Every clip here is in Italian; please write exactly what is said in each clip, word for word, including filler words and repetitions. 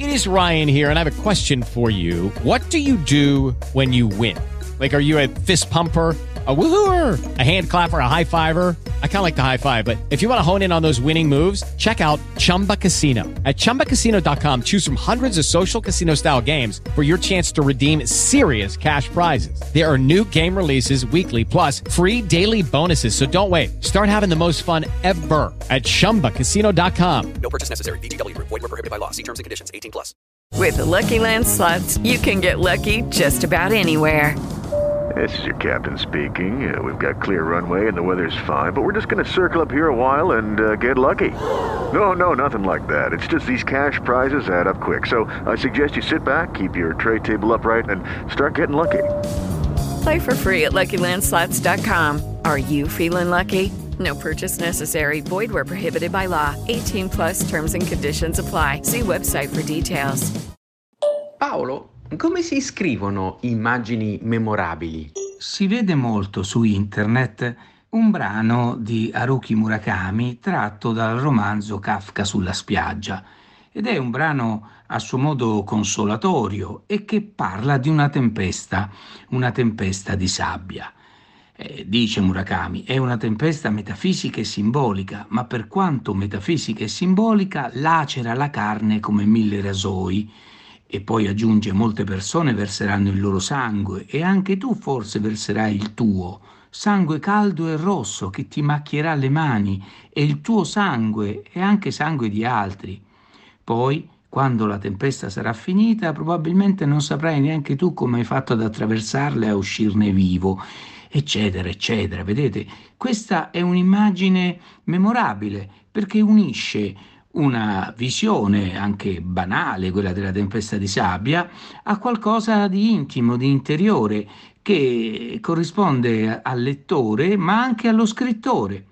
It is Ryan here, and I have a question for you. What do you do when you win? Like, are you a fist pumper, a woohooer, a hand clapper, a high fiver? I kind of like the high five, but if you want to hone in on those winning moves, check out Chumba Casino. At chumba casino dot com, choose from hundreds of social casino style games for your chance to redeem serious cash prizes. There are new game releases weekly, plus free daily bonuses. So don't wait. Start having the most fun ever at chumba casino dot com. No purchase necessary. V G W Group. Void where prohibited by law. See terms and conditions. eighteen plus. With the Lucky Land Slots, you can get lucky just about anywhere. This is your captain speaking. Uh, we've got clear runway and the weather's fine, but we're just going to circle up here a while and uh, get lucky. No, no, nothing like that. It's just these cash prizes add up quick. So I suggest you sit back, keep your tray table upright, and start getting lucky. Play for free at lucky land slots dot com. Are you feeling lucky? No purchase necessary. Void where prohibited by law. eighteen plus terms and conditions apply. See website for details. Paolo, come si scrivono immagini memorabili? Si vede molto su internet un brano di Haruki Murakami tratto dal romanzo Kafka sulla spiaggia, ed è un brano a suo modo consolatorio e che parla di una tempesta, una tempesta di sabbia. Eh, dice Murakami, è una tempesta metafisica e simbolica, ma per quanto metafisica e simbolica lacera la carne come mille rasoi. E poi aggiunge: molte persone verseranno il loro sangue e anche tu forse verserai il tuo, sangue caldo e rosso che ti macchierà le mani, e il tuo sangue e anche sangue di altri. Poi, quando la tempesta sarà finita, probabilmente non saprai neanche tu come hai fatto ad attraversarla e a uscirne vivo, eccetera, eccetera. Vedete, questa è un'immagine memorabile perché unisce una visione anche banale, quella della tempesta di sabbia, a qualcosa di intimo, di interiore, che corrisponde al lettore ma anche allo scrittore.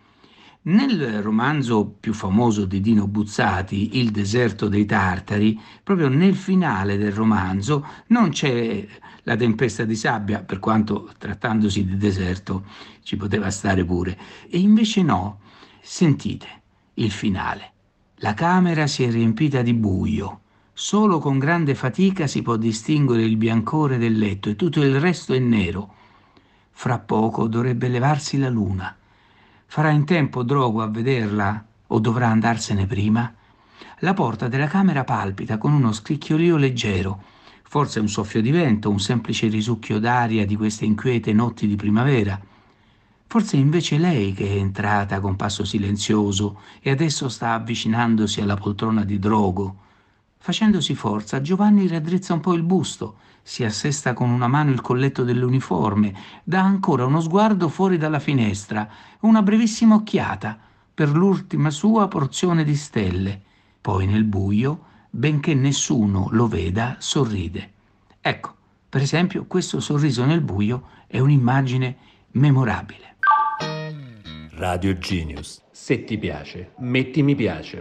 Nel romanzo più famoso di Dino Buzzati, Il deserto dei Tartari, proprio nel finale del romanzo non c'è la tempesta di sabbia, per quanto trattandosi di deserto ci poteva stare pure, e invece no. Sentite il finale. La camera si è riempita di buio. Solo con grande fatica si può distinguere il biancore del letto e tutto il resto è nero. Fra poco dovrebbe levarsi la luna. Farà in tempo Drogo a vederla o dovrà andarsene prima? La porta della camera palpita con uno scricchiolio leggero. Forse un soffio di vento, un semplice risucchio d'aria di queste inquiete notti di primavera. Forse è invece lei che è entrata con passo silenzioso e adesso sta avvicinandosi alla poltrona di Drogo. Facendosi forza, Giovanni raddrizza un po' il busto, si assesta con una mano il colletto dell'uniforme, dà ancora uno sguardo fuori dalla finestra, una brevissima occhiata per l'ultima sua porzione di stelle. Poi nel buio, benché nessuno lo veda, sorride. Ecco, per esempio, questo sorriso nel buio è un'immagine memorabile. Radio Genius. Se ti piace, metti mi piace.